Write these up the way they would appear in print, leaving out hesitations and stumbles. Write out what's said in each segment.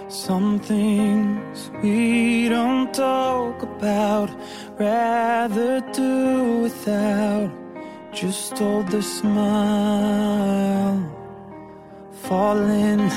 Some things we don't talk about, rather do without. Just hold the smile, falling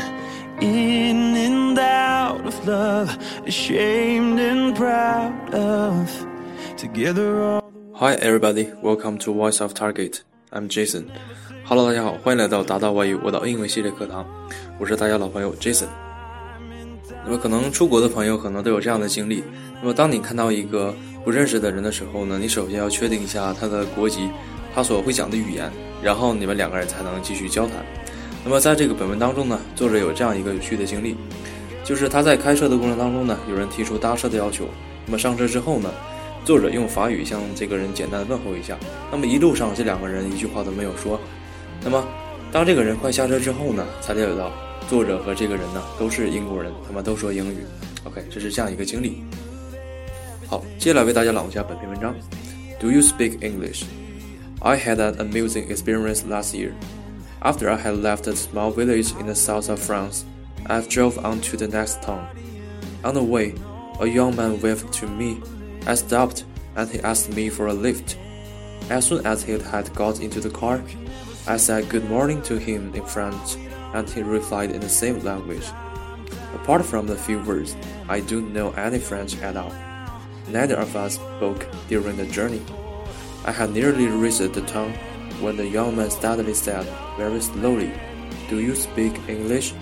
in and out of love, ashamed and proud of together all. Hi everybody, welcome to Voice of Target. I'm Jason. Hello 大家好，欢迎来到达到外语我岛英文系列课堂，我是大家老朋友 Jason。那么可能出国的朋友可能都有这样的经历，那么当你看到一个不认识的人的时候呢，你首先要确定一下他的国籍，他所会讲的语言，然后你们两个人才能继续交谈。那么在这个本文当中呢，作者有这样一个有趣的经历，就是他在开车的过程当中呢，有人提出搭车的要求，那么上车之后呢，作者用法语向这个人简单的问候一下，那么一路上这两个人一句话都没有说。那么当这个人快下车之后呢，才了解到作者和这个人呢都是英国人，他们都说英语。 OK， 这是这样一个经历。好，接下来为大家朗读一下本篇文章。 Do you speak English? I had an amusing experience last year. After I had left a small village in the south of France, I drove on to the next town. On the way, a young man waved to me. I stopped and he asked me for a lift. As soon as he had got into the car, I said good morning to him in French, and he replied in the same language. Apart from the few words, I don't know any French at all. Neither of us spoke during the journey. I had nearly reached the town when the young man suddenly said, very slowly, "Do you speak English?"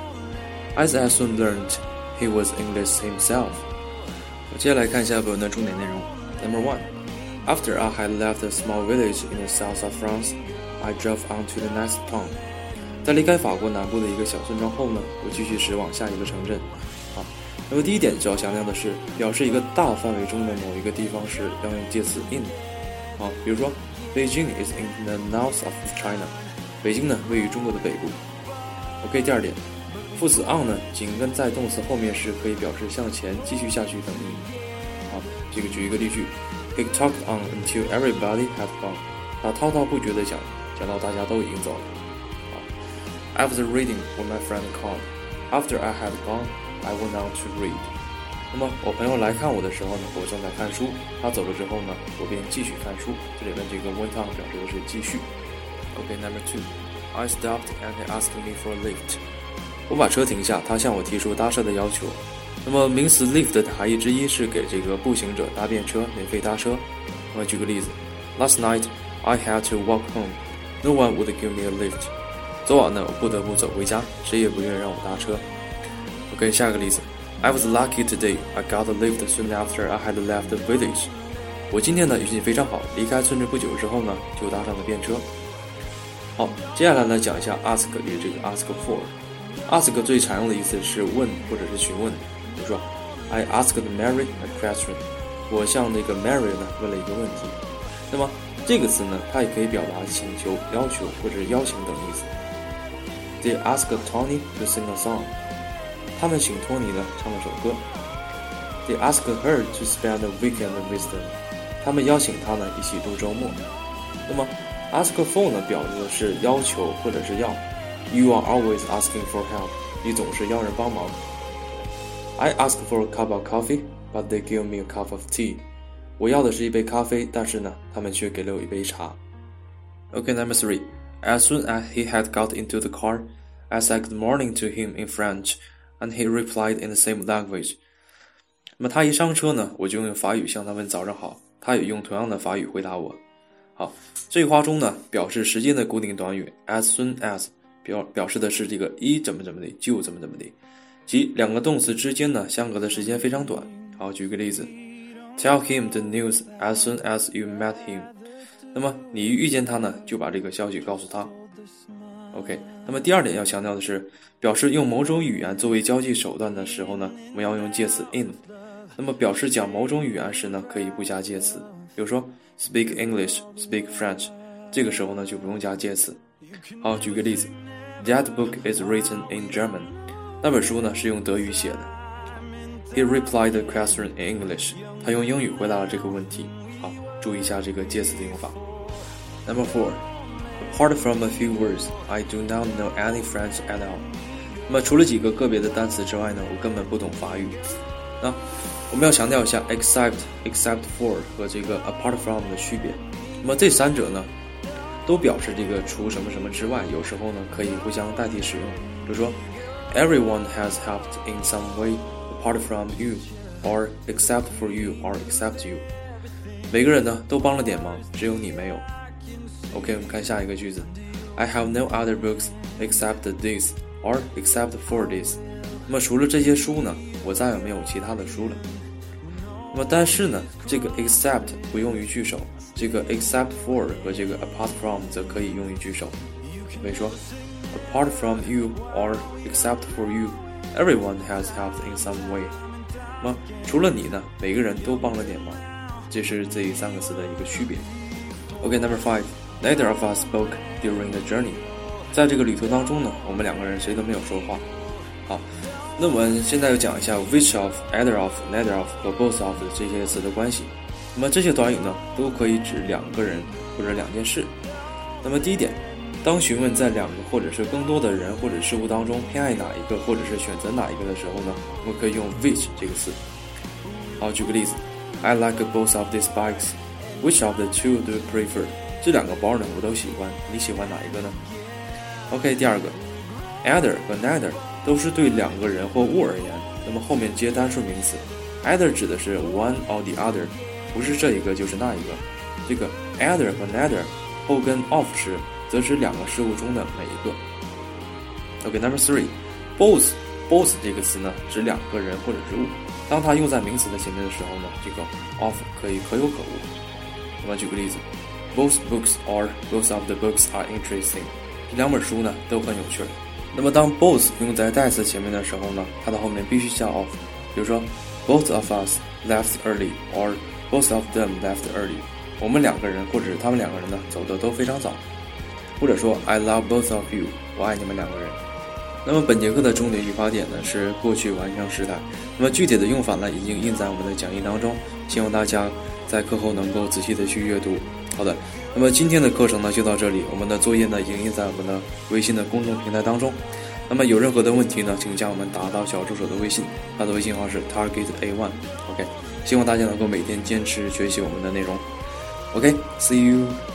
As I soon learned, he was English himself. 接下来看一下本文的重点内容。Number 1. After I had left a small village in the south of France, I drove on to the next town. 在离开法国南部的一个小村庄后呢，我继续驶往下一个城镇。好，那么第一点需要强调的是，表示一个大范围中的某一个地方时要用介词 in。好，比如说 Beijing is in the north of China. 北京呢位于中国的北部。OK， 第二点，副词 on 呢紧跟在动词后面时可以表示向前继续下去等意。好，这个举一个例句 He talked on until everybody had gone. 他滔滔不绝地讲到大家都已经走了。I was reading when my friend called. After I had gone, I went on to read. 那么我朋友来看我的时候呢，我正在看书，他走了之后呢，我便继续看书。这里面这个 went on 表示的是继续。OK, number 2. I stopped and he asked me for a lift. 我把车停下，他向我提出搭车的要求。那么名词 lift 的含义之一是给这个步行者搭便车，免费搭车。那么举个例子 ，Last night I had to walk home. No one would give me a lift. 昨晚呢，我不得不走回家，谁也不愿意让我搭车。OK， 下一个例子 I was lucky today. I got a lift soon after I had left the village. 我今天呢运气非常好，离开村镇不久之后呢，就搭上了便车。好，接下来呢讲一下 ask 与这个 ask for。ask 最常用的意思是问或者是询问，比如说 I asked Mary a question. 我向那个 Mary 呢问了一个问题。那么这个词呢，它也可以表达请求、要求或者邀请等意思。They asked Tony to sing a song. 他们请托尼呢唱了首歌。They asked her to spend a weekend with them. 他们邀请她呢一起度周末。那么 ask for 呢表示的是要求或者是要。You are always asking for help. 你总是要人帮忙。I asked for a cup of coffee, but they gave me a cup of tea. 我要的是一杯咖啡，但是呢，他们却给了我一杯茶。Okay, number 3. As soon as he had got into the car, I said good morning to him in French, and he replied in the same language. 那么他一上车呢，我就用法语向他问早上好，他也用同样的法语回答我。好，这句话中呢，表示时间的固定短语 as soon as 表示的是这个一怎么的，就怎么的，即两个动词之间呢相隔的时间非常短。好，举个例子。Tell him the news as soon as you met him. 那么你一遇见他呢，就把这个消息告诉他。OK， 那么第二点要强调的是，表示用某种语言作为交际手段的时候呢，我们要用介词 in。那么表示讲某种语言时呢，可以不加介词。比如说 speak English, speak French， 这个时候呢就不用加介词。好，举个例子 That book is written in German. 那本书呢是用德语写的。He replied the question in English. 他用英语回答了这个问题。好，注意一下这个介词的用法。Number 4. Apart from a few words, I do not know any French at all. 那么除了几个个别的单词之外呢，我根本不懂法语。那我们要强调一下 except for 和这个 apart from 的区别。那么这三者呢都表示这个除什么什么之外，有时候呢可以互相代替使用。比如说 everyone has helped in some way apart from you or except for you or except you， 每个人呢都帮了点忙，只有你没有。 OK， 我们看下一个句子， I have no other books except this or except for this。 那么除了这些书呢，我再也没有其他的书了。那么但是呢，这个 except 不用于句首，这个 except for 和这个 apart from 则可以用于句首。比如说 apart from you or except for you everyone has helped in some way。 那么除了你呢，每个人都帮了点忙，这是这三个词的一个区别。 OK, number 5, neither of us spoke during the journey。 在这个旅途当中呢，我们两个人谁都没有说话。好，那我们现在要讲一下 which of, either of, neither of 和 both of 这些词的关系。那么这些短语呢都可以指两个人或者两件事。那么第一点，当询问在两个或者是更多的人或者事物当中偏爱哪一个或者是选择哪一个的时候呢，我们可以用 which 这个词。好，举个例子， I like both of these bikes. Which of the two do you prefer？ 这两个包呢我都喜欢，你喜欢哪一个呢？ OK， 第二个 either 和 neither 都是对两个人或物而言，那么后面接单数名词， either 指的是 one or the other， 不是这一个就是那一个。这个 either 和 neither 后跟 of 时则指两个事物中的每一个。 OK, number 3, both 这个词呢指两个人或者是物，当它用在名词的前面的时候呢，这个 of 可以可有可无。那么举个例子， both books or both of the books are interesting。 这两本书呢都很有趣。那么当 both 用在代词前面的时候呢，它的后面必须加 of。比如说 both of us left early or both of them left early， 我们两个人或者是他们两个人呢走的都非常早。或者说 I love both of you， 我爱你们两个人。那么本节课的重点语法点呢是过去完成时态，那么具体的用法呢已经印在我们的讲义当中，希望大家在课后能够仔细的去阅读。好的，那么今天的课程呢就到这里，我们的作业呢已经印在我们的微信的公众平台当中。那么有任何的问题呢，请加我们达到小助手的微信，他的微信号是 target_a1。 OK， 希望大家能够每天坚持学习我们的内容。OK, see you.